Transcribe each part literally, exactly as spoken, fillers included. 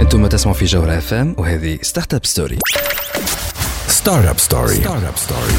انتم تسمعوا في جوهرة اف ام وهذه ستارت اب ستوري. ستارت اب ستوري ستارت اب ستوري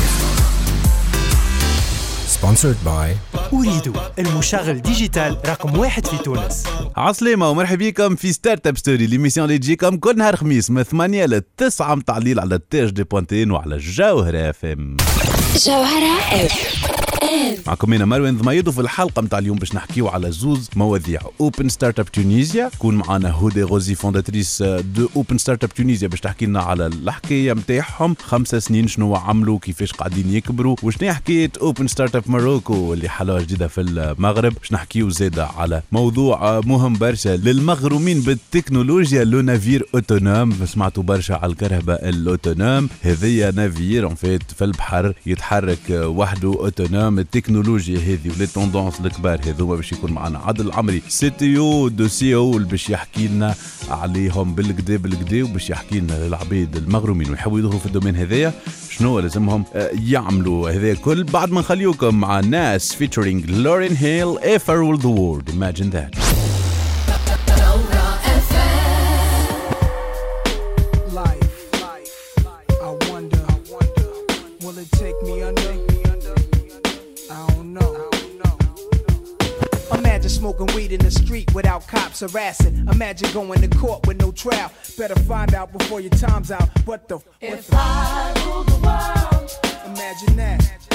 sponsored by أريد المشغل ديجيتال رقم واحد في تونس. عسلامة ومرحبا بكم في ستارت اب ستوري، ليميسيون اللي تجيكم كل نهار خميس من ثمانية لتسعة متاع الليل على التاج دي بوانتين وعلى الجوهرة اف ام. جوهرة اف ام معكم أنا مروان ضميد، وفي الحلقة متاع اليوم باش نحكيو على زوز مواضيع. اوبن ستارت اب تونيزيا، كون معنا هدى غوزي فونداتريس دو اوبن ستارت اب تونيزيا باش تحكي لنا على الحكاية متاعهم، خمسة سنين شنو عملوا، كيفاش قاعدين يكبروا، وشنو حكاية اوبن ستارت اب ماروكو اللي حلوة جديدة في المغرب. باش نحكيو زيادة على موضوع مهم برشا للمغرومين بالتكنولوجيا، لو نافير اوتونوم. سمعتوا برشا على الكرهبة الاوتونوم، هذيا نافير ان فيت في البحر يتحرك وحده اوتونوم. التكنولوجيا هذه ولي توندونس الكبار هذوما باش يكون معنا عادل العمري سي تي او دو سي او باش يحكي لنا عليهم بالكدا بالكدا، وباش يحكي لنا للعبيد المغرومين ويحبوا يدخلوا في الدومين هذايا شنو لازمهم يعملوا. هذا كل بعد ما نخليوكم مع ناس featuring Lauryn Hill If I Ruled the World. Imagine that. Smoking weed in the street without cops harassing. Imagine going to court with no trial. Better find out before your time's out. What the f- If I rule the world, imagine that.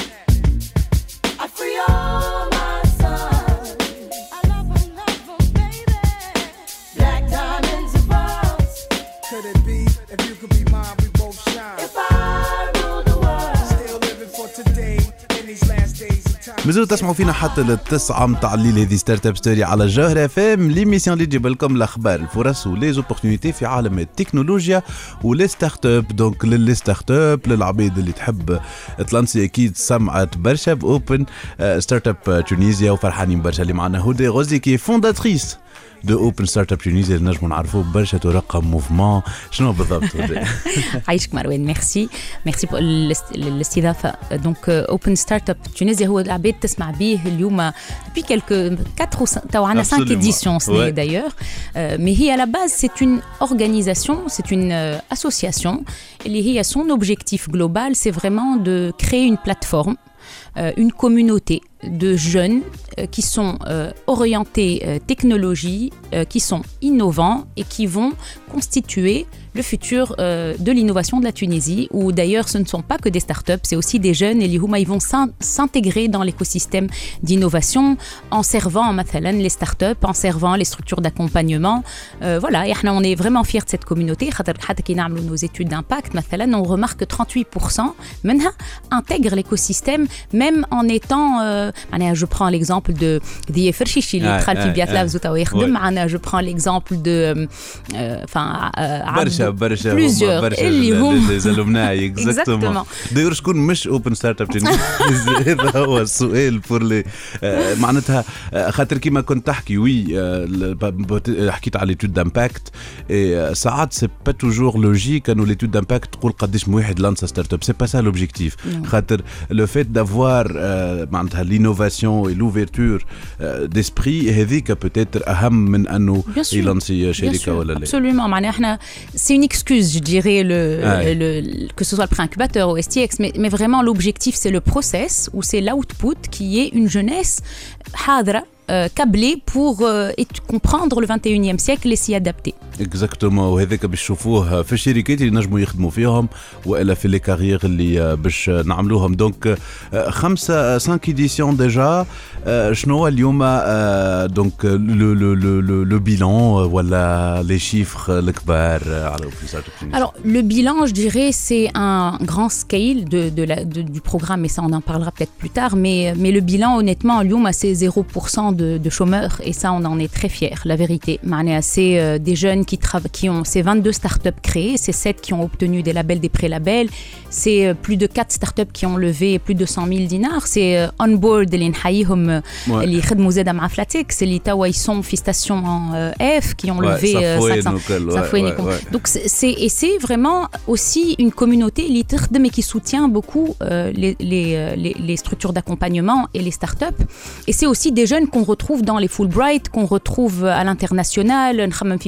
I free all my sons. I love them, love them, baby. Black diamonds and pearls. Could it be if you could be mine, we both shine? If I rule the world, still living for today in these last days of time. مازالوا تسمعوا فينا حتى للتسعة متاع الليل. هذه ستارت اب ستوري على الجوهرة اف ام، ليميسيون اللي تجيب لكم الاخبار، الفرص وليزوبورتينيتي في عالم التكنولوجيا ولي ستارت اب. دونك للي ستارت اب، للعبيد اللي تحب تلانسي، اكيد سمعت برشا باوبن ستارت اب تونيزيا، وفرحانين برشا اللي معنا هدى غوزي كي فونداتريس دو اوبن ستارت اب تونيزيا، اللي نجموا نعرفوه برشا ترقم موفمون. شنو بالضبط؟ عايشك مروان، ميرسي ميرسي بور الاستضافه. دونك اوبن ستارت اب تونيزيا هو العباد تسمع به اليوم depuis quelques quatre ou cinq تو عندنا cinq éditions سنة d'ailleurs, mais هي à la base c'est une organisation, c'est une association اللي هي son objectif global c'est vraiment de créer une plateforme, une communauté de jeunes euh, qui sont euh, orientés euh, technologie, euh, qui sont innovants et qui vont constituer le futur euh, de l'innovation de la Tunisie, où d'ailleurs ce ne sont pas que des startups, c'est aussi des jeunes et ils vont s'intégrer dans l'écosystème d'innovation en servant مثلا les startups, en servant les structures d'accompagnement. Euh, voilà, et on est vraiment fiers de cette communauté. حتى كي نعملوا nos études d'impact مثلا on remarque que trente-huit pour cent منها intègrent l'écosystème même en étant euh, معناها je prends l'exemple de دي فرشيشي اللي دخل في بيات لابز وتوا يخدم معنا. je prends l'exemple de enfin برشا برشا plusieurs اللي هم زلمناي اكزاكتومون. داير شكون مش اوبن ستارت اب تونيزيا؟ هذا هو السؤال بور لي معناتها خاطر كيما كنت تحكي وي حكيت على ليتود دامباكت، ساعات سي با توجور لوجيك انه ليتود دامباكت تقول قداش من واحد لانسا ستارت اب، سي با سا لوبجيكتيف. خاطر لو فيت دافوار معناتها لينوفاسيون اي لوفيرتور ديسبري هذيك بوتيتر اهم من انه يلانسي شركه ولا لا. Absolument, معناها احنا c'est une excuse, je dirais, le, ah ouais. le, que ce soit le pré-incubateur ou S T X, mais, mais vraiment l'objectif c'est le process ou c'est l'output qui est une jeunesse hadra, euh, câblée pour euh, comprendre le vingt et unième siècle et s'y adapter. اكزاكتومون. وهذاك باش نشوفوه في الشركات اللي نجموا يخدموا فيهم والا في لي كارير اللي باش نعملوهم. دونك خمسة cinq éditions déjà. شنو اليوم دونك لو لو لو لو bilan ولا les chiffres الكبار على اوبن ستارت اب؟ Alors le bilan, je dirais, c'est un grand scale de, de la, de, du programme, et ça on en parlera peut-être plus tard, mais, mais le bilan honnêtement اليوم c'est zéro pour cent de, de chômeurs et ça on en est très fiers, la vérité. معناها c'est euh, des jeunes qui, trava- qui ont ces vingt-deux startups créées, c'est sept qui ont obtenu des labels, des pré-labels, c'est euh, plus de quatre startups qui ont levé plus de cent mille dinars, c'est euh, onboard اللي نحييهم اللي يخدموا زاده مع فلاتيكس اللي توا يسون في ستاسيون اف qui ont levé cinq cents. Donc c'est et c'est vraiment aussi une communauté اللي تخدم et qui soutient beaucoup euh, les, les, les, les structures d'accompagnement et les startups. Et c'est aussi des jeunes qu'on retrouve dans les Fulbright, qu'on retrouve à l'international. نخمم في فادير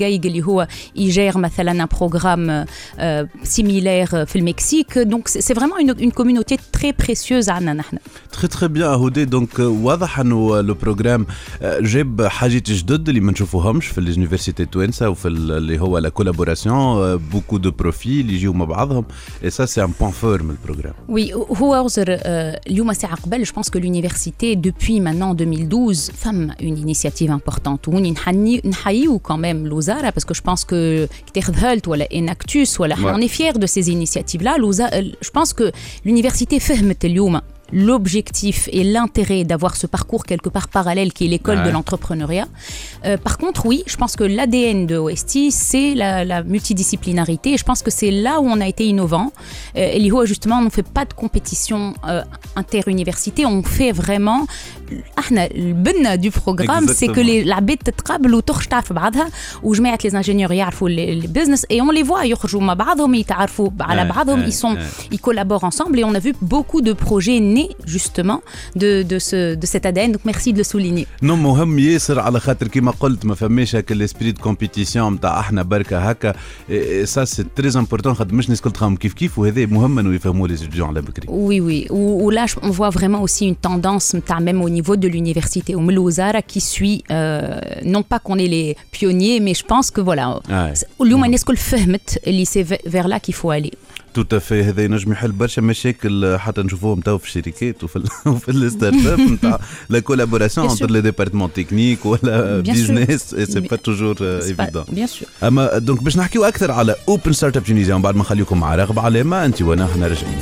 Gaig اللي هو يجير مثلا un programme euh, similaire في المكسيك. Donc c'est vraiment une, une communauté très précieuse عنا نحن. Très très bien هودي. دونك واضح انه لو بروغرام جاب حاجات جدد اللي ما نشوفوهمش في اليونيفرسيتي التوانسه وفي اللي هو لا كولابوراسيون بوكو دو بروفيل يجيو مع بعضهم. Et ça c'est un point fort من البروغرام. Oui, هو أوزر اليوم ساعة قبل. Je pense que l'université depuis maintenant deux mille douze femme une initiative importante. وني نحني نحييو quand même الوزارة parce que je pense que كتاخذ ولا Enactus ولا on est fiers de ces initiatives là. Je pense que l'université فهمت اليوم l'objectif et l'intérêt d'avoir ce parcours quelque part parallèle qui est l'école ouais. de l'entrepreneuriat. Euh, par contre, oui, je pense que l'A D N de O S T, c'est la, la multidisciplinarité. Et je pense que c'est là où on a été innovant. Euh, et l'I H O, justement, on ne fait pas de compétition euh, interuniversité. On fait vraiment... Le but du programme, Exactement. c'est que les l'abed تتقابل وتخرج تعرف بعضها وجماعة les ingénieurs يعرفوا le business et on les voit يخرجوا مع بعضهم يتعرفوا على بعضهم. Ils sont, ils collaborent ensemble et on a vu beaucoup de projets nés justement de de ce de cet A D N. Donc merci de le souligner. Non, مهم ياسر على خاطر كما قلت ما فماش هكا الاسبري دو كومبيتيسيون نتاع احنا بركه هكا. Ça c'est très important خاطر مش الناس الكل تخمم كيف كيف وهذا مهم انه يفهموا les étudiants على بكري. Oui oui. Ou là on voit vraiment aussi une tendance نتاع même au niveau de l'université au Melouzara qui suit euh, non pas qu'on est les pionniers mais je pense que voilà اليوم الناس كل فهمت اللي c'est vers là qu'il faut aller. Tout à fait. هذا ينجم يحل برشا مشاكل حتى نشوفوهم تو في الشركات وفي وفي الستارت اب نتاع لا كولابوراسيون entre les départements techniques ولا بيزنس سي با توجور ايفيدون. Bien sûr. اما دونك باش نحكيو اكثر على اوبن ستارت اب تونيزيا ومن بعد ما نخليكم مع رغبه علامه انت وانا احنا راجعين.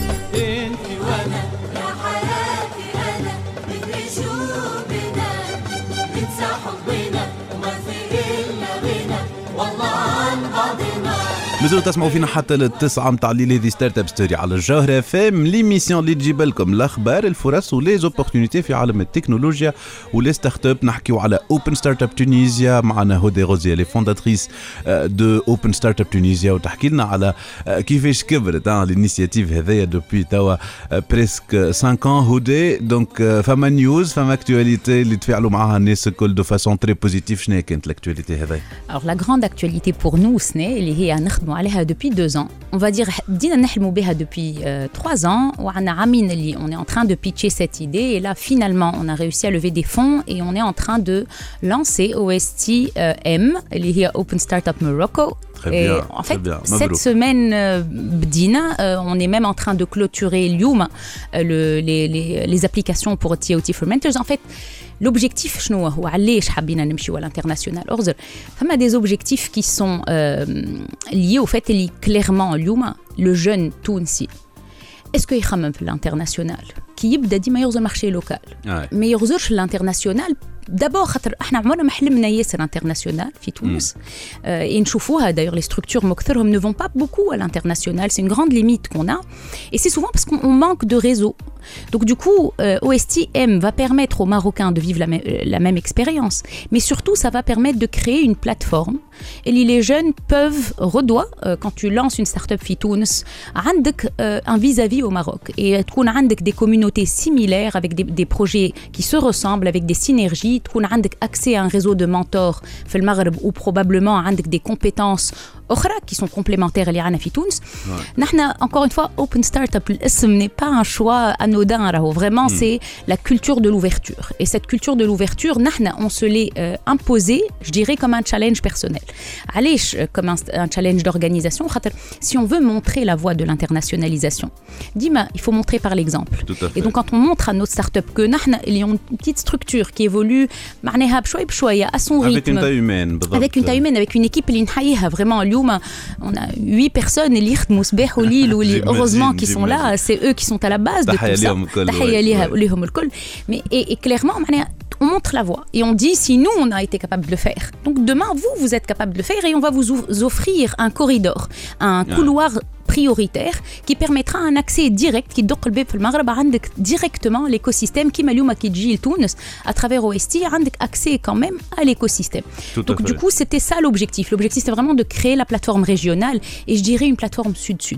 مازالوا تسمعوا فينا حتى للتسعة متاع الليل. هذه ستارت اب ستوري على الجوهرة فام ليميسيون اللي تجيب لكم الاخبار الفرص وليزوبورتونيتي في عالم التكنولوجيا ولي ستارت اب. نحكيو على اوبن ستارت اب تونيزيا معنا هودي غوزي لي فونداتريس دو اوبن ستارت اب تونيزيا وتحكي لنا على كيفاش كبرت الانيشيتيف هذايا دوبي توا بريسك خمسة ans. هودي دونك فما نيوز فما اكtualité اللي تفاعلوا معها الناس الكل دو فاسون تري بوزيتيف. شنو كانت الاكtualité هذايا؟ Alors la grande actualité pour nous سنة اللي هي نخدموا عليها depuis deux ans. On va dire بدينا نحلموا بها depuis euh, trois ans وعنا عامين اللي on est en train de pitcher cette idée et là finalement on a réussi à lever des fonds et on est en train de lancer O S T euh, M اللي هي Open Startup Morocco. Et en fait, cette semaine, euh, Bdina, euh, on est même en train de clôturer l'Youm, euh, le, les, les, les applications pour T O T Fermenters. En fait, l'objectif, شنو هو علاش حابين نمشيو à l'international. Or, فما des objectifs qui sont euh, liés au fait اللي clairement اليوم le jeune Tounsi est-ce qu'il يخمم في l'international كي يبدا ديما يغزر marché local ما يغزرش l'international. D'abord, احنا عمرنا ما حلمنا ياسر international في تونس. Et نشوفوها d'ailleurs les structures مكثرهم ne vont pas beaucoup à l'international. C'est une grande limite qu'on a. Et c'est souvent parce qu'on manque de réseau. Donc du coup, euh, O S T M va permettre aux Marocains de vivre la, même, la même expérience. Mais surtout, ça va permettre de créer une plateforme. Et les jeunes peuvent, redoit, euh, quand tu lances une start-up في تونس, عندك euh, un vis-à-vis au Maroc. Et تكون عندك des communautés similaires avec des, des projets qui se ressemblent, avec des synergies. تكون عندك accès à un réseau de mentors في المغرب ou probablement عندك des compétences أخرى qui sont complémentaires اللي عنا في تونس. نحن encore une fois Open Startup الاسم n'est pas un choix anodin راهو vraiment mm. c'est la culture de l'ouverture et cette culture de l'ouverture نحن on se l'est euh, imposé je dirais comme un challenge personnel. علاش comme un, un challenge d'organisation خاطر si on veut montrer la voie de l'internationalisation ديما il faut montrer par l'exemple. Et donc quand on montre à notre start-up que نحن اللي ont une petite structure qui évolue معناها بشوي بشوية à son rythme avec une taille humaine avec une taille humaine avec une équipe اللي نحييها vraiment اليوم on a huit personnes اللي يخدموا صباح وليل واللي heureusement qui sont là c'est eux qui sont à la base de tout ça. تحية ليهم الكل. Mais et, et clairement معناها on montre la voie et on dit si nous on a été capable de le faire donc demain vous vous êtes capable de le faire et on va vous offrir un corridor un couloir prioritaire qui permettra un accès direct qui doق الباب في المغرب عندك directement l'écosystème كيما اليوم كي تجي لتونس à travers O S T عندك accès quand même à l'écosystème. Donc du coup c'était ça l'objectif. L'objectif c'était vraiment de créer la plateforme régionale et je dirais une plateforme sud-sud.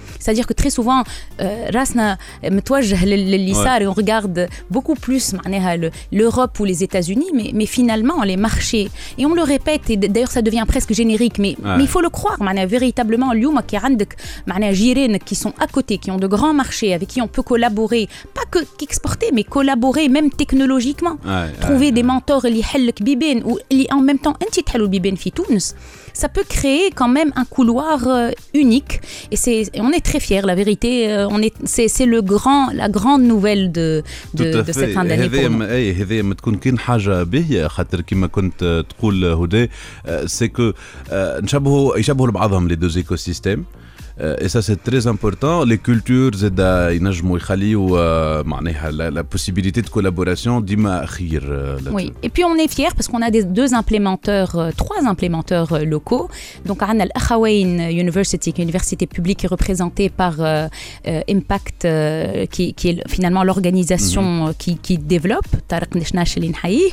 c'est-à-dire que très souvent euh, راسنا متوجه لليسار et on regarde beaucoup plus معناها l'Europe ou les États-Unis mais mais finalement les marchés et on le répète et d'ailleurs ça devient presque générique mais ouais. mais il faut le croire معناها véritablement اليوم كي عندك معناها جيرانك qui sont à côté qui ont de grands marchés avec qui on peut collaborer pas que qu'exporter mais collaborer même technologiquement ouais, trouver ouais, des ouais. mentors اللي يحلك بيبان واللي en même temps انت تحلوا البيبان في تونس ça peut créer quand même un couloir euh, unique et c'est et on est très fiers la vérité euh, on est c'est c'est le grand la grande nouvelle de de, de cette fin d'année pour nous. اي هذه ما تكون كاين حاجه باهيه خاطر كما كنت تقول هدى سي كو نشبهوا يشبهوا لبعضهم لي دوز ايكو سيستيم et ça c'est très important les cultures زاد ينجموا يخليوا معناها la possibilité de collaboration ديما خير. Oui et puis on est fiers parce qu'on a des deux implémenteurs trois implémenteurs locaux donc عندنا الأخوين University qui est une université publique représentée par euh, Impact euh, qui qui est finalement l'organisation mm-hmm. qui qui développe طارق نشناش اللي نحييه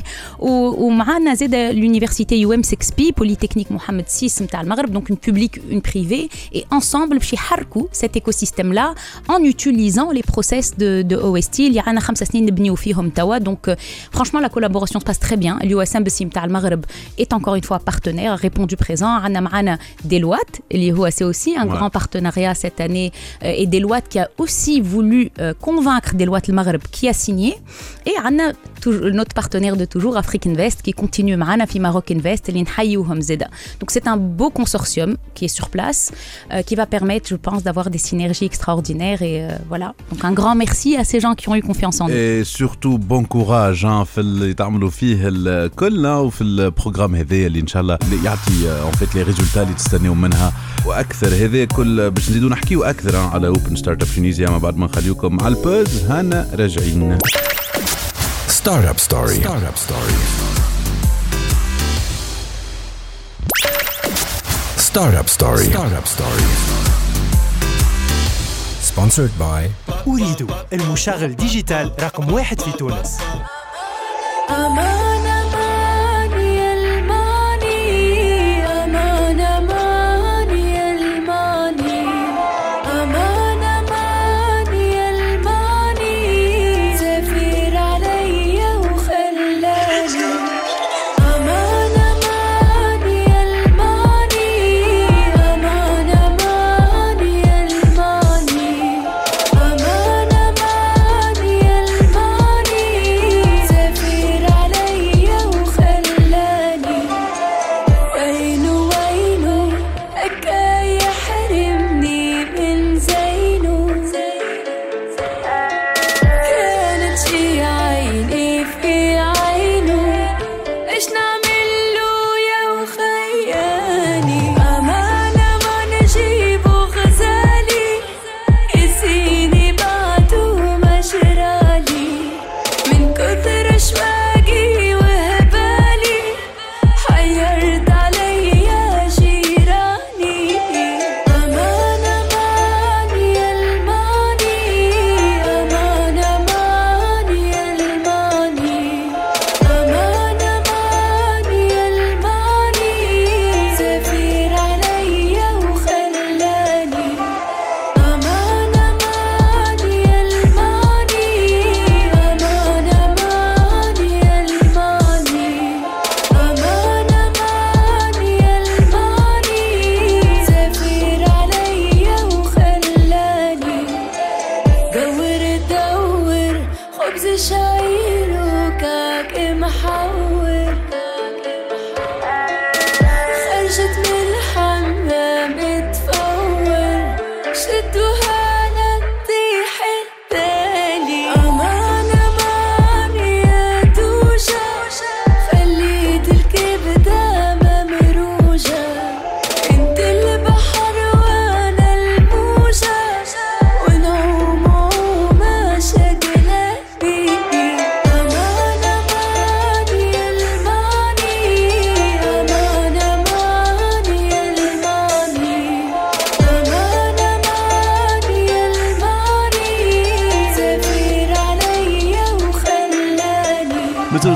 ومعنا زاد l'université U M six P Polytechnique Mohamed six نتاع المغرب donc une publique une privée et ensemble باش يحركوا cet écosystème là en utilisant les process de de O S T اللي عندنا خمس سنين نبنيو فيهم توا donc franchement la collaboration se passe très bien l'U S M B C نتاع المغرب est encore une fois partenaire répondu présent عندنا معنا Deloitte اللي هو c'est aussi un ouais. grand partenariat cette année et Deloitte qui a aussi voulu euh, convaincre Deloitte المغرب qui a signé et عندنا notre partenaire de toujours Afrique Invest qui continue معنا في Maroc Invest اللي نحيوهم زاده donc c'est un beau consortium qui est sur place euh, qui va permettre je pense d'avoir des synergies extraordinaires et euh, voilà donc un grand merci à ces gens qui ont eu confiance en nous et surtout bon courage hein, في اللي تعملوا فيه الكل وفي البروجرام هذا اللي ان شاء الله يعطي en fait les résultats اللي تستنوا منها واكثر هذا كل باش نزيدوا نحكيوا اكثر على Open Startup Tunisia ما بعد ما نخليكم مع البوز هنا راجعين. Startup Story. Startup Story. Startup Story. Startup Story. Sponsored by أريد المشغل ديجيتال رقم واحد في تونس.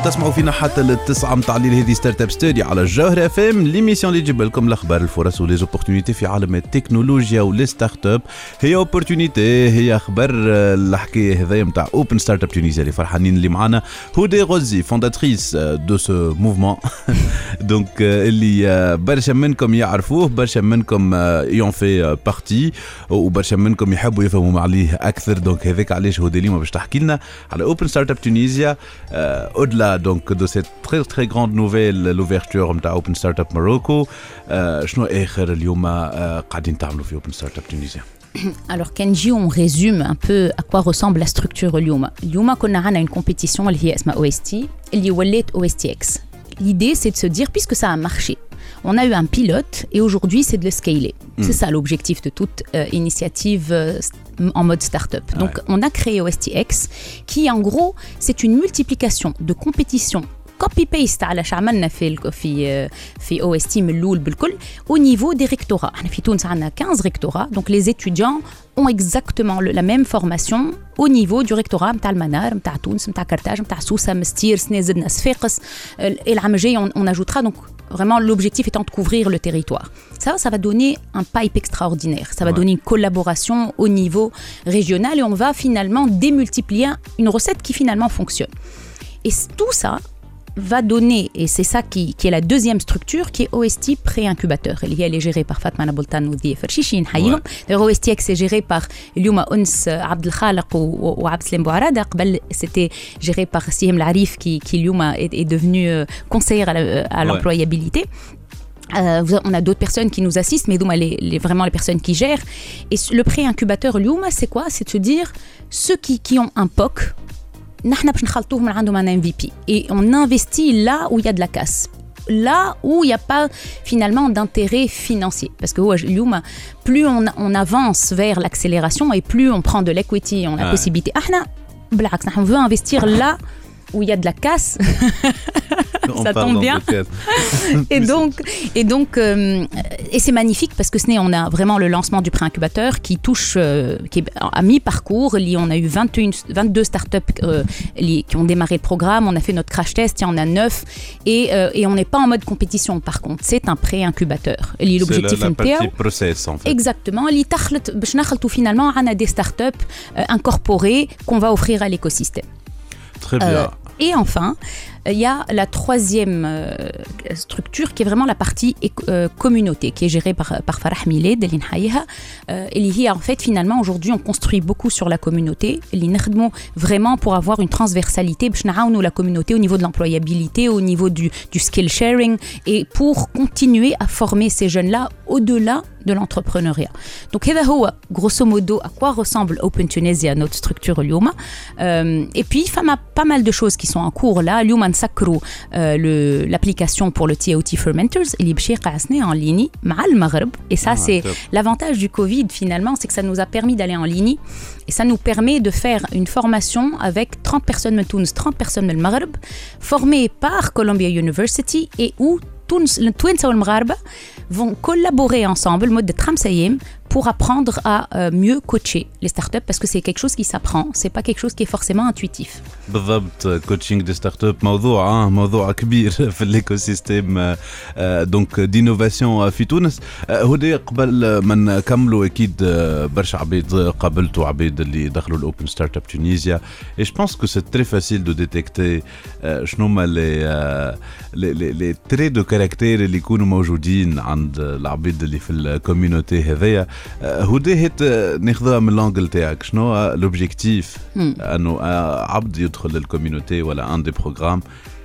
تسمعوا فينا حتى للتسعة متاع الليل. هذه ستارت اب ستوري على الجوهرة اف ام، ليميسيون اللي تجيب لكم الاخبار الفرص وليزوبورتونيتي في عالم التكنولوجيا وليستارت اب. هي اوبورتونيتي، هي اخبار الحكايه هذايا متاع اوبن ستارت اب تونيزيا اللي فرحانين اللي معنا هودي غوزي فونداتريس دو سو موفمون. دونك اللي برشا منكم يعرفوه، برشا منكم يون في بارتي، وبرشا منكم يحبوا يفهموا عليه اكثر. دونك هذاك علاش هودي اليوم باش تحكي لنا على اوبن ستارت اب تونيزيا. au-delà donc de cette très très grande nouvelle, l'ouverture de Open Startup Morocco, شنو آخر اليوم قاعدين تعملوا في Open Startup Tunisia? Alors Kenji, on résume un peu à quoi ressemble la structure اليوم. اليوم كنا عنا une compétition اللي هي اسمها O S T اللي ولات O S T X. L'idée c'est de se dire, puisque ça a marché, on a eu un pilote et aujourd'hui c'est de le scaler. Mm. C'est ça l'objectif de toute euh, initiative euh, en mode start-up. Ouais. Donc on a créé O S T X qui en gros c'est une multiplication de compétitions copy-paste على شعملنا في في في O S T من الأول بالكل au niveau des rectorats. احنا في تونس عندنا quinze rectorats, donc les étudiants ont exactement le, la même formation au niveau du rectorat نتاع المنار نتاع تونس نتاع كرتاج نتاع سوسة مستير سنازدنا صفاقس. العام الجاي on, on ajoutera, donc vraiment l'objectif étant de couvrir le territoire. Ça ça va donner un pipe extraordinaire, ça va ouais. donner une collaboration au niveau régional et on va finalement démultiplier une recette qui finalement fonctionne. Et tout ça va donner, et c'est ça qui, qui est la deuxième structure, qui est O S T pré-incubateur. Elle est gérée par Fatma Naboltan ou Dié Ferchichi. O S T X est géré par Lyouma Ons Abdel Khalaq ou Abdel Bouarada. C'était géré par Sihem Larif qui, qui Lyouma est, est devenu conseillère à, la, à l'employabilité. Euh, on a d'autres personnes qui nous assistent, mais les, les, vraiment les personnes qui gèrent. Et le pré-incubateur Lyouma, c'est quoi? C'est de se dire, ceux qui, qui ont un P O C, نحن باش نخلطوهم من عندهم un M V P et on investit là où il y a de la casse, là où il n'y a pas finalement d'intérêt financier, parce que اليوم plus on, on avance vers l'accélération et plus on prend de l'equity, on a la ah. possibilité. احنا بالعكس نحن on veut investir là où il y a de la casse. Ça tombe bien. et donc, et donc, euh, et c'est magnifique parce que ce n'est, on a vraiment le lancement du pré-incubateur qui touche, euh, qui est à mi-parcours. On a eu vingt et une, vingt-deux startups euh, qui ont démarré le programme. On a fait notre crash test, il y en a neuf, et, euh, et on n'est pas en mode compétition. Par contre, c'est un pré-incubateur. L'objectif c'est la, la partie process en fait. Exactement. Finalement, on a des startups euh, incorporées qu'on va offrir à l'écosystème. Très bien. Euh, et enfin, il y a la troisième euh, structure qui est vraiment la partie euh, communauté, qui est gérée par, par Farah Miled, euh, et en fait, finalement, aujourd'hui, on construit beaucoup sur la communauté, vraiment pour avoir une transversalité, la communauté au niveau de l'employabilité, au niveau du, du skill sharing, et pour continuer à former ces jeunes-là au-delà de l'entrepreneuriat. Donc, c'est grosso modo à quoi ressemble Open Tunisia, notre structure Lyouma. Euh, et puis, il y a pas mal de choses qui sont en cours là. Lyouma نسكروا euh, l'application pour le T O T Fermenters اللي باش يقع سنة en ligne مع المغرب. Et ça, ah, c'est top. L'avantage du Covid finalement, c'est que ça nous a permis d'aller en ligne et ça nous permet de faire une formation avec trente personnes de Tunis, trente personnes de Maghreb, formées par Columbia University et où Tunis, le Twins ou le Maghreb vont collaborer ensemble, le mode de Tramsayem, pour apprendre à euh, mieux coacher les startups parce que c'est quelque chose qui s'apprend, c'est pas quelque chose qui est forcément intuitif. بالضبط coaching des startups موضوع موضوع كبير في الايكوسيستم دونك دينوفاسيون في تونس. هودي قبل ما نكملوا اكيد برشا عبيد قابلتوا عبيد اللي دخلوا الاوبن ستارت اب تونيزيا et je pense que c'est très facile de détecter شنو هما لي لي لي تري دو كاركتير اللي يكونوا موجودين عند العبيد اللي في الكوميونيتي هذيا. هودي هيت ناخذها من لانجل تاعك، شنو لوبجيكتيف انه عبد يدخل للكوميونيتي ولا ان دي بروغرام،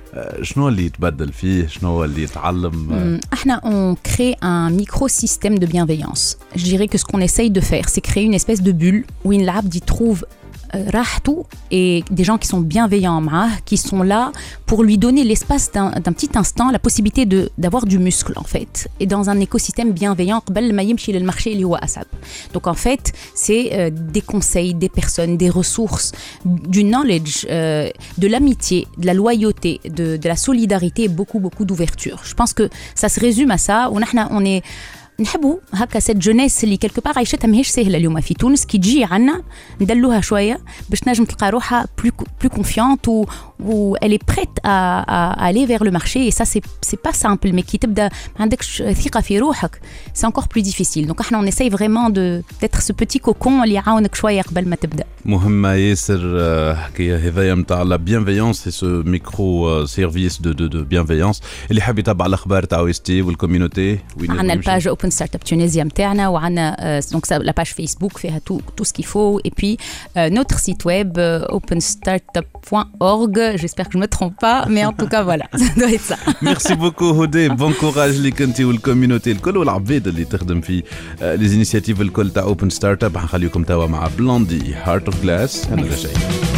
شنو اللي يتبدل فيه، شنو اللي يتعلم؟ احنا on crée un microsystème de bienveillance. Je dirais que ce qu'on essaye de faire, c'est créer une espèce de bulle où l'abd y trouve rahtou et des gens qui sont bienveillants معاه, qui sont là pour lui donner l'espace d'un, d'un petit instant, la possibilité de, d'avoir du muscle en fait, et dans un écosystème bienveillant قبل ما يمشي للمارشي اللي هو أصعب. Donc en fait, c'est euh, des conseils, des personnes, des ressources, du knowledge, euh, de l'amitié, de la loyauté, de, de la solidarité et beaucoup beaucoup d'ouverture. Je pense que ça se résume à ça. ونحن on est نحبوا هكا سيت جونيس اللي كلكو بار عيشتها ماهيش سهله اليوم في تونس، كي تجي عنا ندلوها شويه باش نجم تلقى روحها بلو بلو كونفيونت où elle est prête à, à, à aller vers le marché et ça c'est c'est pas simple mais qui تبدا ما عندكش ثقة في روحك c'est encore plus difficile donc احنا on essaye vraiment de d'être ce petit cocon اللي يعاونك شوية قبل ما تبدا. مهمة ياسر حكاية هذايا متاع لا بيانفيونس سو ميكرو سيرفيس دو دو دو بيانفيونس اللي حاب يتابع الاخبار تاع او اس تي والكوميونيتي. عندنا الباج اوبن ستارت اب تونيزيا نتاعنا وعندنا دونك لا باج فيسبوك فيها tout tout ce qu'il faut et puis euh, notre site web euh, open startup point org. J'espère que je me trompe pas mais en tout cas voilà ça doit être ça. Merci beaucoup هدى bon courage ليك انت والكوميونيتي الكل والعباد اللي تخدم في لي انيشيتيف الكل تاع اوبن ستارت اب. حنخليكم توا مع بلوندي هارت اوف جلاس. هذا شيء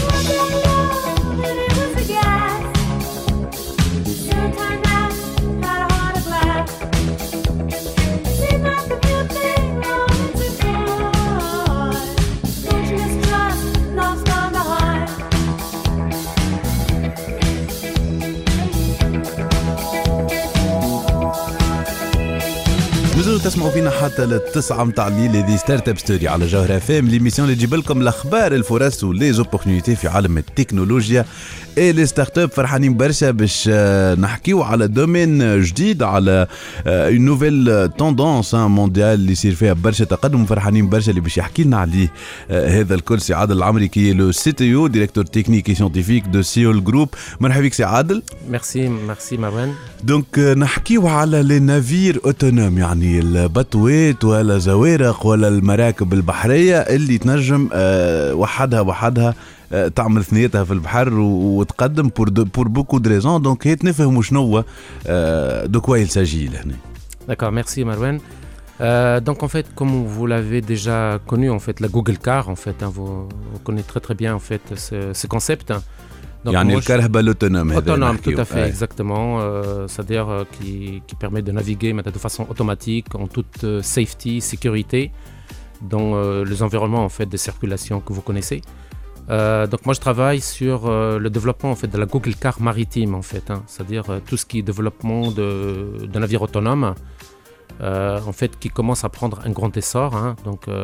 تسمعوا فينا حتى للتسعة متاع الليل. هذه ستارت اب ستوري على جوهرة اف ام ليميسيون اللي تجيب لكم الاخبار الفرص ولي زوبورتونيتي في عالم التكنولوجيا اي لي ستارت اب. فرحانين برشا باش نحكيو على دومين جديد على اون نوفيل توندونس مونديال اللي يصير فيها برشا تقدم. فرحانين برشا اللي باش يحكي لنا عليه هذا الكل سي عادل العمري كي لو سي تي او ديريكتور تكنيك سيانتيفيك دو سيول جروب. مرحبا بك سي عادل. ميرسي ميرسي مروان. دونك نحكيو على لي نافير اوتونوم يعني البطوات ولا زوارق ولا المراكب البحرية اللي تنجم وحدها وحدها تعمل ثنيتها في البحر وتقدم بور بور بوكو دو ريزون. دونك هيت نفهموا شنو دو كوا يلساجي لهنا. D'accord, merci Marwan. Euh, donc en fait, comme vous l'avez déjà connu, en fait, la Google Car, en fait, hein, vous, vous connaissez très très bien en fait ce, ce concept. Donc, يعني الكرهبة l'autonome. Autonome, tout à fait, ouais. Exactement. Euh, c'est-à-dire euh, qui, qui permet de naviguer mais de façon automatique, en toute euh, safety, sécurité, dans euh, les environnements en fait de circulation que vous connaissez. Euh, donc moi je travaille sur euh, le développement en fait de la Google Car maritime en fait, hein, c'est-à-dire euh, tout ce qui est développement de, de navires autonomes, euh, en fait qui commence à prendre un grand essor, hein, donc euh,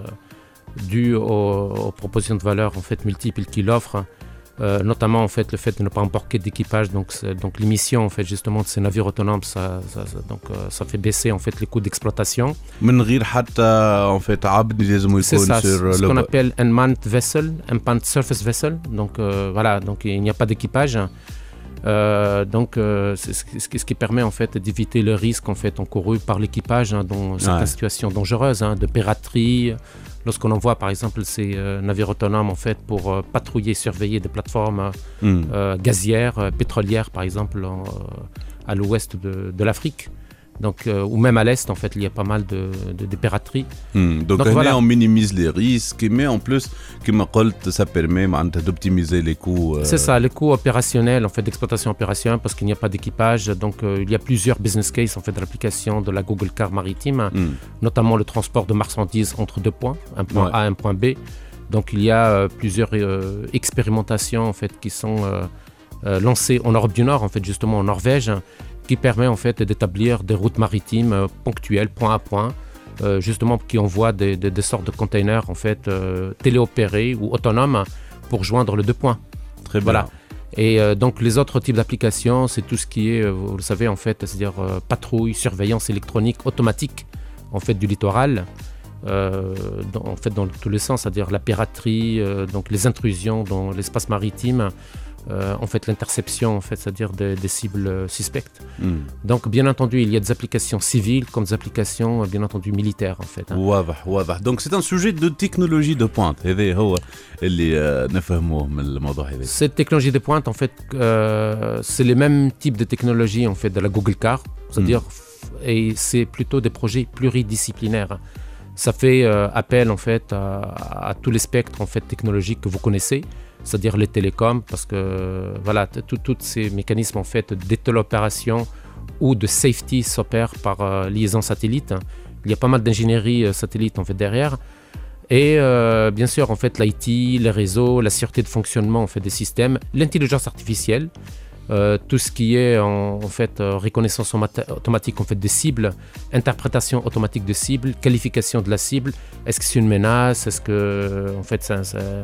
dû aux, aux propositions de valeur en fait multiples qu'il offre. Euh, notamment en fait le fait de ne pas embarquer d'équipage, donc donc l'émission en fait justement de ces navires autonomes, ça, ça, ça donc euh, ça fait baisser en fait les coûts d'exploitation. من غير حتى en fait عبد لازم يكون sur le ce qu'on appelle unmanned vessel, unmanned surface vessel. Donc euh, voilà, donc il n'y a pas d'équipage. Euh, donc euh, c'est ce qui, ce qui permet en fait d'éviter le risque en fait encouru par l'équipage, hein, dans certaines ouais. situations dangereuses, hein, de piraterie. Lorsqu'on envoie par exemple ces euh, navires autonomes en fait pour euh, patrouiller, surveiller des plateformes mm. euh, gazières, euh, pétrolières par exemple en, euh, à l'ouest de, de l'Afrique. Donc, euh, ou même à l'est en fait il y a pas mal de, de, de piraterie. Mm. Donc, donc voilà. On minimise les risques mais en plus comme ça permet d'optimiser les coûts. Euh... C'est ça, les coûts opérationnels en fait d'exploitation opérationnelle parce qu'il n'y a pas d'équipage. Donc euh, il y a plusieurs business cases en fait de l'application de la Google Car maritime, mm. notamment le transport de marchandises entre deux points, un point ouais. A, un point B. Donc il y a euh, plusieurs euh, expérimentations en fait qui sont euh, euh, lancées en Europe du Nord en fait justement en Norvège, qui permet en fait d'établir des routes maritimes euh, ponctuelles, point à point, euh, justement qui envoient des, des, des sortes de containers en fait euh, téléopérés ou autonomes pour joindre les deux points. Très bien. Voilà. Et euh, donc les autres types d'applications, c'est tout ce qui est, euh, vous le savez en fait, c'est-à-dire euh, patrouille, surveillance électronique automatique en fait du littoral. Euh, dans, en fait dans tous les sens, c'est-à-dire la piraterie, euh, donc les intrusions dans l'espace maritime. Euh, en fait l'interception en fait, c'est-à-dire des, des cibles euh, suspectes. Mm. Donc bien entendu il y a des applications civiles comme des applications euh, bien entendu militaires en fait. Hein. واضح واضح. Donc c'est un sujet de technologie de pointe. هذا هو اللي نفهموه من الموضوع هذا. Cette technologie de pointe en fait euh, c'est les mêmes types de technologies en fait de la Google Car, c'est-à-dire mm. et c'est plutôt des projets pluridisciplinaires. Ça fait euh, appel en fait à, à tous les spectres en fait technologiques que vous connaissez, c'est-à-dire les télécoms, parce que voilà, tous ces mécanismes en fait d'ételopération ou de safety s'opèrent par euh, liaison satellite. Il y a pas mal d'ingénierie euh, satellite en fait derrière, et euh, bien sûr en fait l'I T, les réseaux, la sûreté de fonctionnement en fait des systèmes, l'intelligence artificielle, euh, tout ce qui est en, en fait euh, reconnaissance automatique en fait des cibles, interprétation automatique de cibles, qualification de la cible. Est-ce que c'est une menace? Est-ce que en fait ça, ça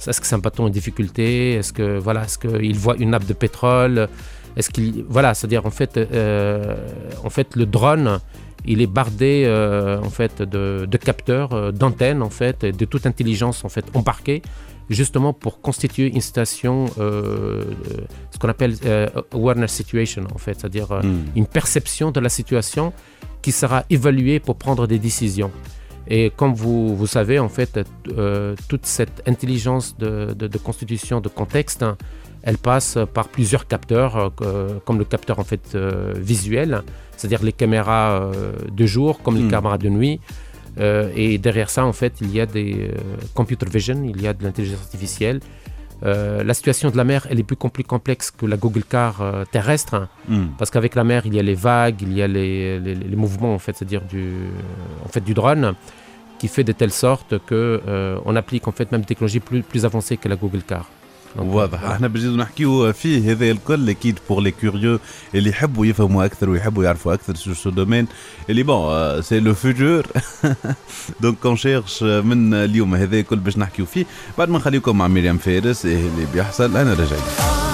est-ce que c'est un bateau en difficulté, est-ce que voilà, est-ce qu'il voit une nappe de pétrole, est-ce qu'il voilà, c'est-à-dire en fait, euh, en fait le drone, il est bardé euh, en fait de, de capteurs, euh, d'antennes en fait, et de toute intelligence en fait embarquée, justement pour constituer une station, euh, ce qu'on appelle euh, awareness situation en fait, c'est-à-dire euh, mm. une perception de la situation qui sera évaluée pour prendre des décisions. Et comme vous, vous savez, en fait, euh, toute cette intelligence de, de, de constitution de contexte, hein, elle passe par plusieurs capteurs, euh, comme le capteur en fait euh, visuel, c'est-à-dire les caméras euh, de jour, comme les mm. caméras de nuit. Euh, et derrière ça, en fait, il y a des euh, computer vision, il y a de l'intelligence artificielle. Euh, la situation de la mer, elle est plus compl- complexe que la Google Car euh, terrestre, hein, mm. parce qu'avec la mer, il y a les vagues, il y a les, les, les mouvements, en fait, c'est-à-dire du, en fait, du drone, qui fait de telle sorte qu'on euh, applique en fait même des technologies plus, plus avancées que la Google Car. واضح. احنا بنجيو نحكيو فيه هذا الكل اكيد بور لي كوريو اللي يحبوا يفهموا اكثر ويحبوا يعرفوا اكثر سو سو دومين اللي بون سي لو فيتور دونك كون شيرش من اليوم هذا الكل باش نحكيو فيه. بعد ما نخليكم مع مريم فارس ايه اللي بيحصل انا راجعين.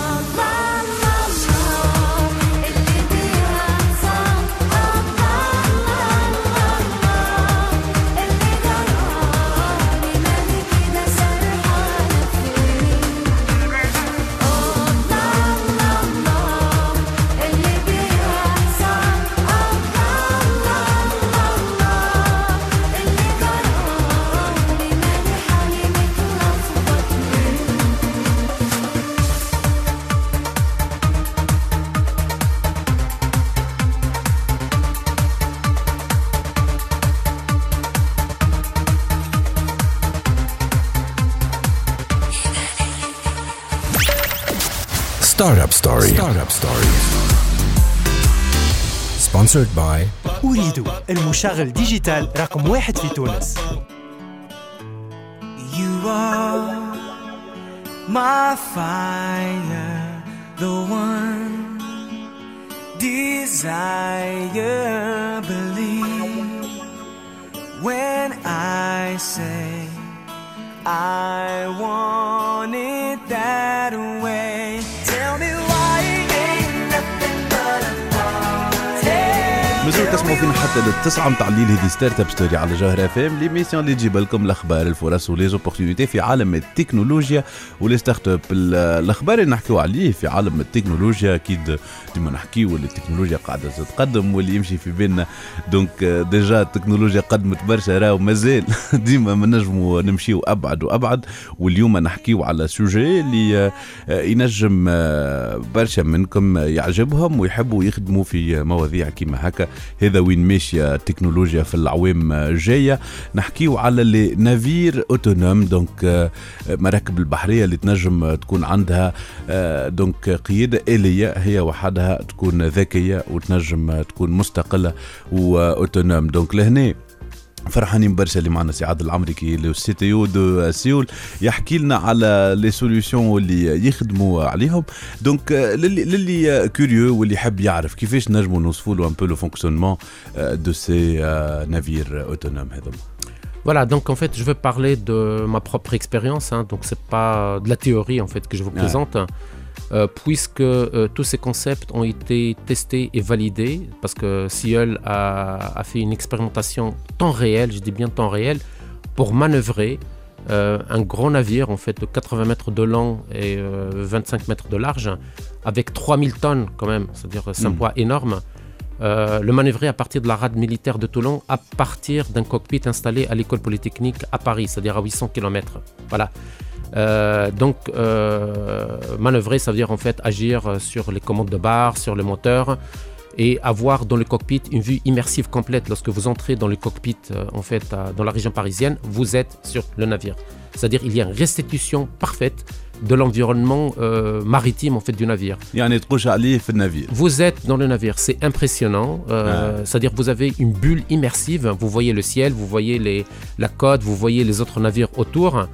Startup Story. Startup Story. Sponsored by أريد المشغل ديجيتال رقم واحد في تونس. You are my fire, the one desire, believe when I say I want it that way. مازالوا تسمعوا فينا حتى للتسعة متاع الليل. هذه ستارت اب ستوري على جوهر اف ام، ليميسيون اللي تجيب لكم الاخبار الفرص وليزوبورتينيتي في عالم التكنولوجيا ولي ستارت اب. الاخبار اللي نحكيو عليه في عالم التكنولوجيا اكيد ديما نحكيو اللي التكنولوجيا قاعده تتقدم واللي يمشي في بيننا. دونك ديجا التكنولوجيا قدمت برشا راهو مازال ديما ما نجموا نمشيو ابعد وابعد. واليوم نحكيو على سوجي اللي ينجم برشا منكم يعجبهم ويحبوا يخدموا في مواضيع كيما هكا. هذا وين ماشيه التكنولوجيا في العوام جايه. نحكيو على لي نافير اوتونوم، دونك مراكب البحريه اللي تنجم تكون عندها دونك قياده آلية هي وحدها، تكون ذكيه وتنجم تكون مستقله واوتونوم. دونك لهنا فرحانين برشا اللي معنا سي عادل العمري لو سي تي او دو سيول يحكي لنا على لي سوليوشن اللي يخدموا عليهم. دونك للي للي كوريو واللي يحب يعرف كيفاش نجموا نوصفوا له ان بو لو فونكسيونمون دو سي نافير اوتونوم هذوما. Voilà, donc en fait, je vais parler de ma propre expérience, hein, donc c'est pas de la théorie en fait que je vous présente. Ouais. Euh, puisque euh, tous ces concepts ont été testés et validés, parce que Seoul a, a fait une expérimentation temps réel, je dis bien temps réel, pour manœuvrer euh, un grand navire en fait de quatre-vingts mètres de long et euh, vingt-cinq mètres de large, avec trois mille tonnes quand même, c'est-à-dire c'est un mmh. poids énorme. Euh, le manœuvrer à partir de la rade militaire de Toulon, à partir d'un cockpit installé à l'école polytechnique à Paris, c'est-à-dire à huit cents kilomètres. Voilà. Euh, donc euh, manœuvrer, ça veut dire en fait agir sur les commandes de barre, sur le moteur et avoir dans le cockpit une vue immersive complète. Lorsque vous entrez dans le cockpit euh, en fait euh, dans la région parisienne, vous êtes sur le navire. C'est-à-dire il y a une restitution parfaite de l'environnement euh, maritime en fait du navire. Vous êtes dans le navire, c'est impressionnant. Euh, ah. C'est-à-dire vous avez une bulle immersive. Vous voyez le ciel, vous voyez les, la côte, vous voyez les autres navires autour.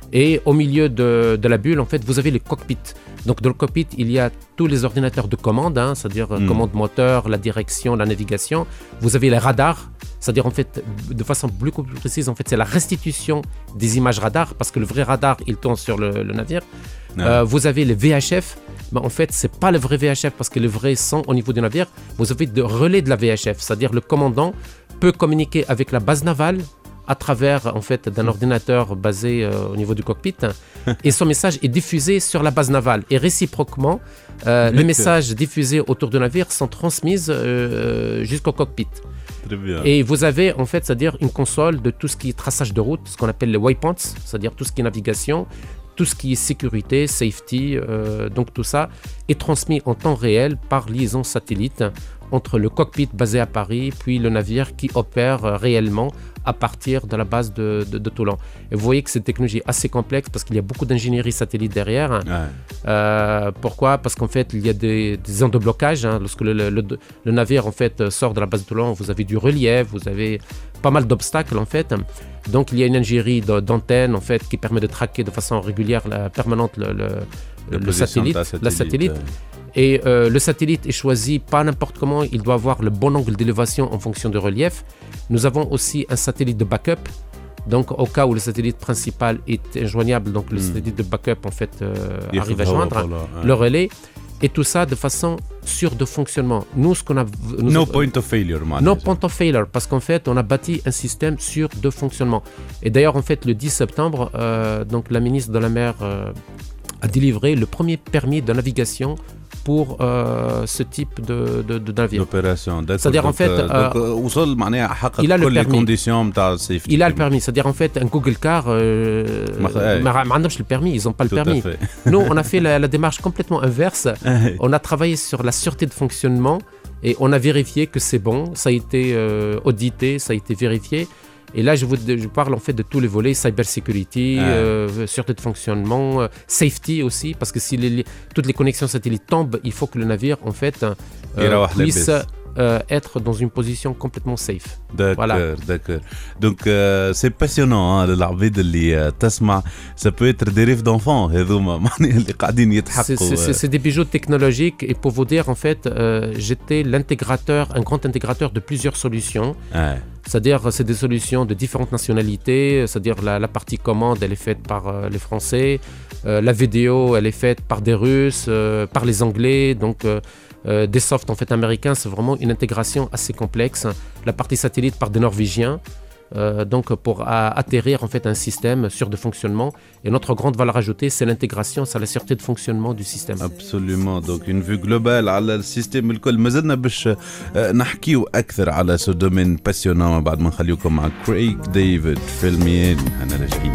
Et au milieu de, de la bulle, en fait, vous avez les cockpits. Donc, dans le cockpit, il y a tous les ordinateurs de commande, hein, c'est-à-dire mm. commande moteur, la direction, la navigation. Vous avez les radars, c'est-à-dire, en fait, de façon beaucoup plus précise, en fait, c'est la restitution des images radars, parce que le vrai radar, il tourne sur le, le navire. Mm. Euh, vous avez les V H F. Ben, en fait, ce n'est pas le vrai V H F, parce que les vrais sont au niveau du navire. Vous avez des relais de la V H F, c'est-à-dire le commandant peut communiquer avec la base navale à travers en fait d'un ordinateur basé euh, au niveau du cockpit et son message est diffusé sur la base navale et réciproquement euh, les messages diffusés autour du navire sont transmis euh, jusqu'au cockpit. Très bien. Et vous avez en fait, c'est-à-dire une console de tout ce qui est traçage de route, ce qu'on appelle les waypoints, c'est-à-dire tout ce qui est navigation, tout ce qui est sécurité, safety, euh, donc tout ça est transmis en temps réel par liaison satellite entre le cockpit basé à Paris puis le navire qui opère euh, réellement à partir de la base de, de, de Toulon. Et vous voyez que c'est une technologie assez complexe parce qu'il y a beaucoup d'ingénierie satellite derrière. Ouais. Euh, pourquoi ? Parce qu'en fait, il y a des, des zones de blocage. Hein. Lorsque le, le, le navire en fait, sort de la base de Toulon, vous avez du relief, vous avez pas mal d'obstacles en fait. Donc, il y a une ingénierie d'antenne en fait, qui permet de traquer de façon régulière, la, permanente le, le, le satellite, satellite, la satellite. Euh... Et euh, le satellite est choisi pas n'importe comment, il doit avoir le bon angle d'élévation en fonction du relief. Nous avons aussi un satellite de backup. Donc, au cas où le satellite principal est injoignable, donc le mm. satellite de backup en fait euh, arrive à joindre voilà, ouais. le relais. Et tout ça de façon sûre de fonctionnement. Nous, ce qu'on a... Nous no a, point of failure, man. No point of failure, parce qu'en fait, on a bâti un système sûr de fonctionnement. Et d'ailleurs, en fait, le dix septembre, euh, donc la ministre de la Mer euh, a délivré le premier permis de navigation pour euh, ce type de, de, de navire. D'opération. C'est-à-dire en fait, euh, il a le permis. Il a le permis. C'est-à-dire en fait, un Google Car, euh, le permis, ils n'ont pas le Tout permis. Nous, on a fait la, la démarche complètement inverse. On a travaillé sur la sûreté de fonctionnement et on a vérifié que c'est bon. Ça a été euh, audité, ça a été vérifié. Et là, je vous je parle en fait de tous les volets, cybersecurity, ah. euh, sûreté de fonctionnement, euh, safety aussi, parce que si les, toutes les connexions satellites tombent, il faut que le navire en fait euh, puisse euh, être dans une position complètement safe. D'accord, voilà. D'accord. Donc euh, c'est passionnant, hein, العباد اللي تسمع, ça peut être des rêves d'enfants, هذوما اللي قاعدين يتحققوا. C'est c'est des bijoux technologiques et pour vous dire en fait, euh, j'étais l'intégrateur, un grand intégrateur de plusieurs solutions. Ah. C'est-à-dire, c'est des solutions de différentes nationalités. C'est-à-dire, la, la partie commande, elle est faite par euh, les Français. Euh, la vidéo, elle est faite par des Russes, euh, par les Anglais. Donc, euh, euh, des softs en fait américains, c'est vraiment une intégration assez complexe. La partie satellite par des Norvégiens. Euh, donc, pour à, atterrir en fait un système sûr de fonctionnement. Et notre grande valeur ajoutée, c'est l'intégration, c'est la sûreté de fonctionnement du système. Absolument. Donc, une vue globale على السيستم الكل. ما زلنا باش نحكيو أكثر على ce domaine passionnant بعد ما نخليكم مع كريغ ديفيد. فيلمين أنا لاجئين.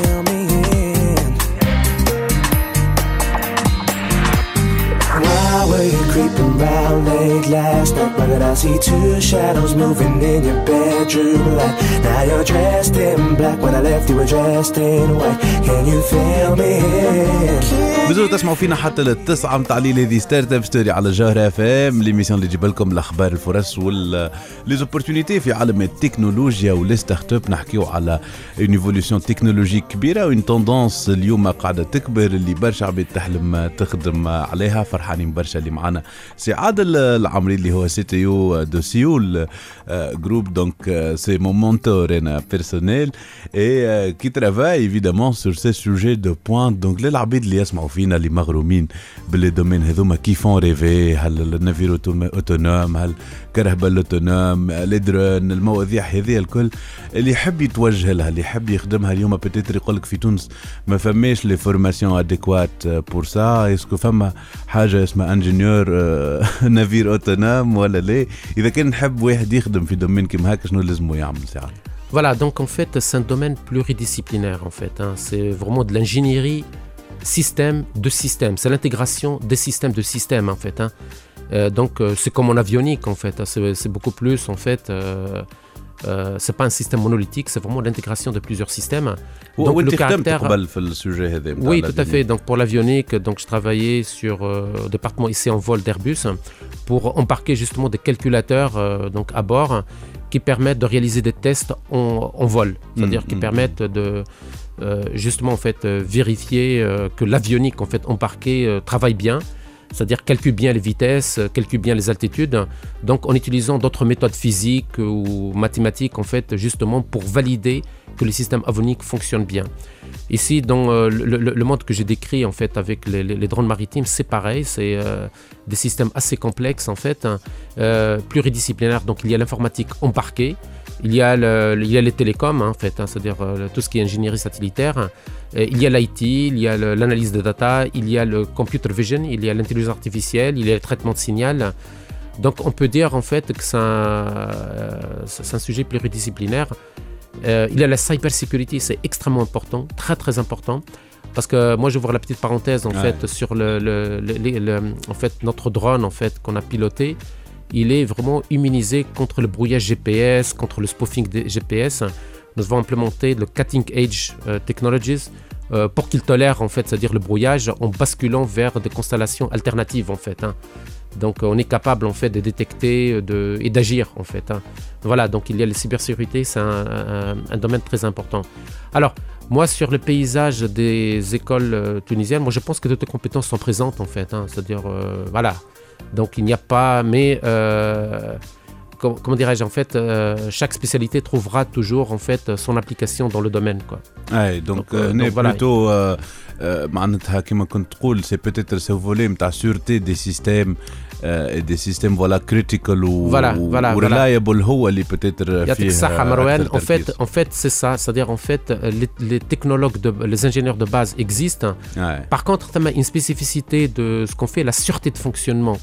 Why were you creeping round late last night? Why did I see two shadows moving in your bedroom light? Now you're dressed in black. When I left you were dressed in white. Can you feel me? بزور تسمعوا فينا حتى للتسعة متاع الليل. هذه ستارت اب ستوري على جوهرة اف ام, ليميسيون اللي تجيب لكم الاخبار, الفرص وال لي زوبورتونيتي في عالم التكنولوجيا ولي ستارت اب. نحكيو على اون ايفولوشن تكنولوجيك كبيره وين توندونس اليوم قاعده تكبر, اللي برشا عباد تحلم تخدم عليها. فرحانين برشا اللي معنا سي عادل العمري اللي هو سي تي يو دو سيول جروب. دونك سي مون مونتور انا بيرسونيل اي كي ترافاي ايفيدامون سور سي سوجي دو بوين. دونك للعباد اللي يسمعوا فينا اللي مغرومين باللي دومين هذوما كيفون ريفي, هل النافير اوتونوم, هل كرهبه الاوتونوم, لي درون, المواضيع هذه الكل اللي يحب يتوجه لها, اللي يحب يخدمها اليوم. بتيتر يقول لك في تونس ما فماش لي فورماسيون اديكوات بور سا. اسكو فما حاجه اسمها انجينيور نافير اوتونوم ولا لا؟ اذا كان نحب واحد يخدم في دومين كيما هكا شنو لازمو يعمل ساعه؟ Voilà, donc en fait, c'est un domaine pluridisciplinaire en fait. Hein. C'est vraiment de l'ingénierie système de système. C'est l'intégration des systèmes de systèmes en fait. Hein. Euh, donc euh, c'est comme en avionique en fait. Hein. C'est, c'est beaucoup plus en fait. Euh, euh, c'est pas un système monolithique, c'est vraiment l'intégration de plusieurs systèmes. Donc le caractère. Oui, tout à fait. Donc pour l'avionique, donc je travaillais sur euh, le département ici en vol d'Airbus pour embarquer justement des calculateurs euh, donc à bord qui permettent de réaliser des tests en, en vol, c'est-à-dire mmh, qui mmh. permettent de euh, justement en fait euh, vérifier euh, que l'avionique en fait embarquée euh, travaille bien, c'est-à-dire calcule bien les vitesses, calcule bien les altitudes, donc en utilisant d'autres méthodes physiques ou mathématiques en fait justement pour valider que le système avionique fonctionne bien. Ici, dans euh, le, le, le monde que j'ai décrit en fait avec les, les, les drones maritimes, c'est pareil, c'est euh, des systèmes assez complexes en fait, hein, euh, pluridisciplinaires. Donc il y a l'informatique embarquée, il y a, le, il y a les télécoms hein, en fait, hein, c'est-à-dire euh, tout ce qui est ingénierie satellitaire. Euh, il y a l'I T, il y a le, l'analyse de data, il y a le computer vision, il y a l'intelligence artificielle, il y a le traitement de signal. Donc on peut dire en fait que c'est un, euh, c'est un sujet pluridisciplinaire. Euh, il y a la cybersecurity, c'est extrêmement important, très très important, parce que moi j'ouvre la petite parenthèse en ouais. fait sur le, le, le, le, le, en fait notre drone en fait qu'on a piloté, il est vraiment immunisé contre le brouillage G P S, contre le spoofing des G P S. Nous avons implémenté le cutting edge uh, technologies euh, pour qu'il tolère en fait, c'est-à-dire le brouillage en basculant vers des constellations alternatives en fait. Hein. Donc on est capable en fait de détecter de, et d'agir en fait. Hein. Voilà, donc il y a la cybersécurité, c'est un, un, un domaine très important. Alors moi sur le paysage des écoles euh, tunisiennes, moi je pense que toutes les compétences sont présentes en fait. Hein. C'est-à-dire euh, voilà, donc il n'y a pas, mais euh, comment, comment dirais-je en fait, euh, chaque spécialité trouvera toujours en fait son application dans le domaine quoi. Ouais, donc, donc, euh, donc voilà. Plutôt euh, معناتها كما كنت تقول سي بوتيتر سو فولي نتاع سورتي دي سيستيم دي سيستيم فوالا كريتيكال وريلايبل هو اللي بوتيتر يعطيك الصحة مروان. en fait en fait c'est ça, c'est-à-dire en fait les, les technologues de, les ingénieurs de base existent. Ouais. Par contre il y a une spécificité de ce qu'on fait, la sûreté de fonctionnement.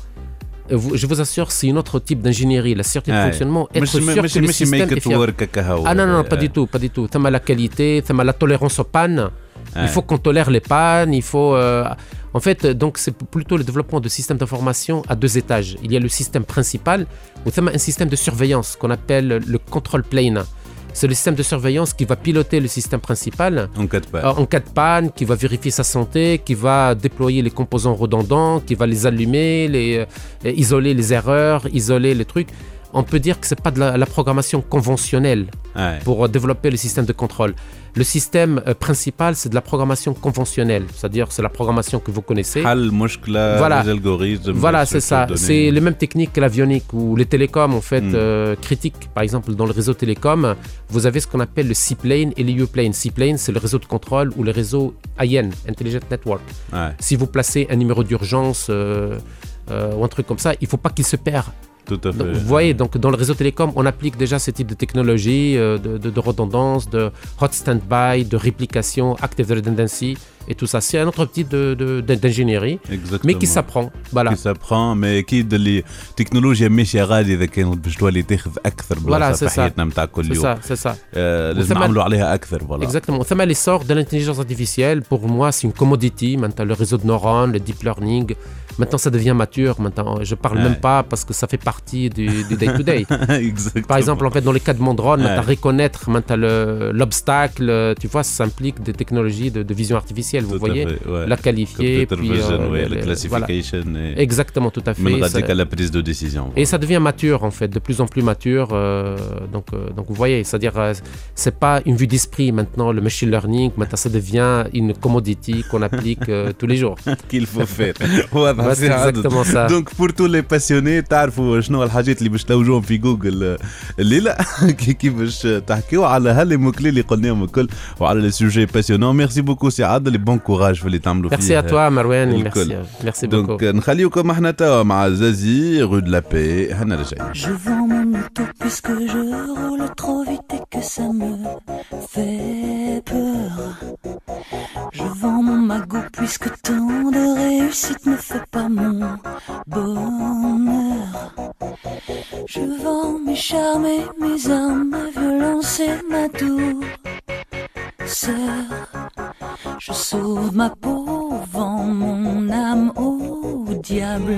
Je vous assure, c'est un autre type d'ingénierie, la sûreté de fonctionnement, être sûr que le système est fiable. Ah non, non, pas du tout, pas du tout. Il y a la qualité, il y a la tolérance aux pannes. Il faut qu'on tolère les pannes, il faut... Euh... En fait, donc, c'est plutôt le développement de systèmes d'information à deux étages. Il y a le système principal, ou il y a un système de surveillance qu'on appelle le control plane. C'est le système de surveillance qui va piloter le système principal en cas de panne, euh, en cas de panne, qui va vérifier sa santé, qui va déployer les composants redondants, qui va les allumer, les, euh, isoler les erreurs, isoler les trucs. On peut dire que ce n'est pas de la, la programmation conventionnelle ouais. pour développer le système de contrôle. Le système euh, principal, c'est de la programmation conventionnelle, c'est-à-dire c'est la programmation que vous connaissez. Voilà, les algorithmes. Voilà, c'est ça. C'est les mêmes techniques que l'avionique ou les télécoms en fait mm. euh, critiques. Par exemple, dans le réseau télécom, vous avez ce qu'on appelle le C-plane et le U-plane. C-plane, c'est le réseau de contrôle ou le réseau I N, Intelligent Network. Ouais. Si vous placez un numéro d'urgence euh, euh, ou un truc comme ça, il ne faut pas qu'il se perde. Tout à fait. Donc, vous voyez, donc dans le réseau télécom, on applique déjà ce type de technologie, euh, de, de, de redondance, de hot standby, de réplication, active redundancy et tout ça. C'est un autre type de, de, de, d'ingénierie, exactement. Mais qui s'apprend. Voilà. Qui s'apprend, mais أكيد اللي تكنولوجيا ماشية غادي إذا كانت باش تولي تاخذ أكثر بلاصة في حياتنا نتاع كل يوم. C'est ça, c'est ça. Euh, لازم نعملوا عليها أكثر. Voilà. Exactement. ثم l'essor de l'intelligence artificielle, pour moi, c'est une commodity. Maintenant, le réseau de neurones, le deep learning. Maintenant, ça devient mature. Maintenant, je parle ouais. même pas parce que ça fait partie du, du day-to-day. Par exemple, en fait, dans les cas de mon drone, ouais. reconnaître le, l'obstacle, tu vois, ça implique des technologies de, de vision artificielle, vous tout voyez, ouais. la qualifier, puis vision, euh, ouais, les, la classification. Voilà. Et... Exactement, tout à fait. Même ça... à la prise de décision. Voilà. Et ça devient mature, en fait, de plus en plus mature. Euh, donc, euh, donc, vous voyez, c'est-à-dire, euh, c'est pas une vue d'esprit maintenant, le machine learning. Maintenant, ça devient une commodity qu'on applique euh, tous les jours. Qu'il faut faire. C'est exactement ça. Donc pour tous les passionnés تعرفوا شنو الحاجات اللي باش تلوجوهم في جوجل الليله كي باش تحكيوا على هالموكلي اللي قلناهم الكل وعلى لي سوجي باسيونون. ميرسي بوكو سي عادل، بون كوراج في اللي تعملوا فيه. ميرسي ا توا مروان، ميرسي ميرسي بوكو. دونك نخليوكم احنا توا مع زازي رو دو لا بي، هنرجع. Je vends mon auto puisque je roule trop vite et que ça me fait peur. Je vends mon magot puisque tant de réussite ne fait pas mon bonheur. Je vends mes charmes et mes armes, ma violence et ma douceur. Je sauve ma peau, vends mon âme au diable.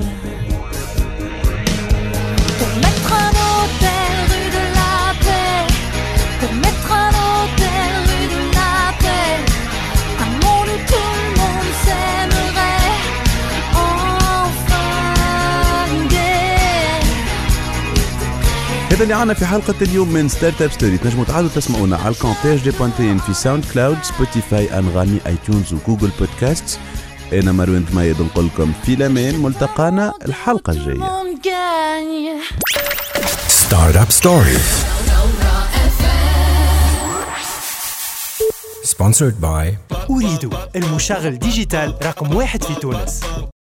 Pour mettre un hôtel rue de la paix, pour mettre un hôtel rue de la paix, un monde où tout le monde s'aimerait. هذا اللي عنا في حلقة اليوم من ستارت اب ستوري. تنجموا تعالوا تسمعونا على الكونتاج دي بوانتين في ساوند كلاود، سبوتيفاي، انغامي، ايتونز وجوجل بودكاست. انا مروان ضميد نقول لكم في الامان، ملتقانا الحلقة الجاية. ستارت اب ستوري sponsored by أريد المشغل ديجيتال رقم واحد في تونس.